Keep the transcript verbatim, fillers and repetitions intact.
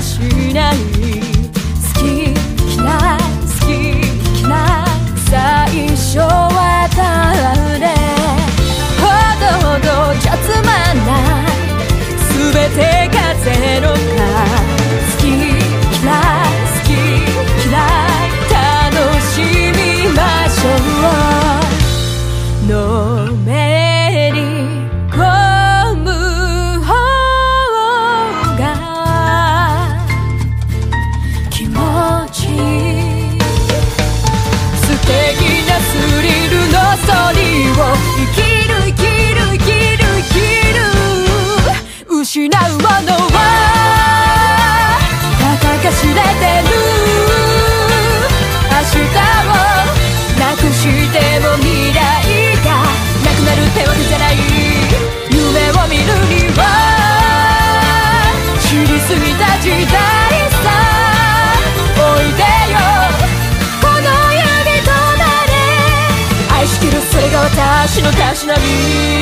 しない。好き嫌い好き嫌い最初はたでほどほどじゃつまんない。全て風の中好き嫌い好き嫌い楽しみましょう。のめり込む方が気持ちいい。素敵なスリルのストーリーを生きる生きる生きる生きる。失うものはたかが知れてる。明日をなくしても未来がなくなるってわけじゃない。夢を見るには知りすぎた時代さ。おいでよこの指となれ愛しきるそれが私のたしなみ。